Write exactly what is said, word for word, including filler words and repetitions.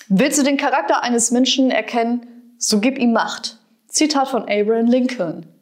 Willst du den Charakter eines Menschen erkennen? So gib ihm Macht. Zitat von Abraham Lincoln.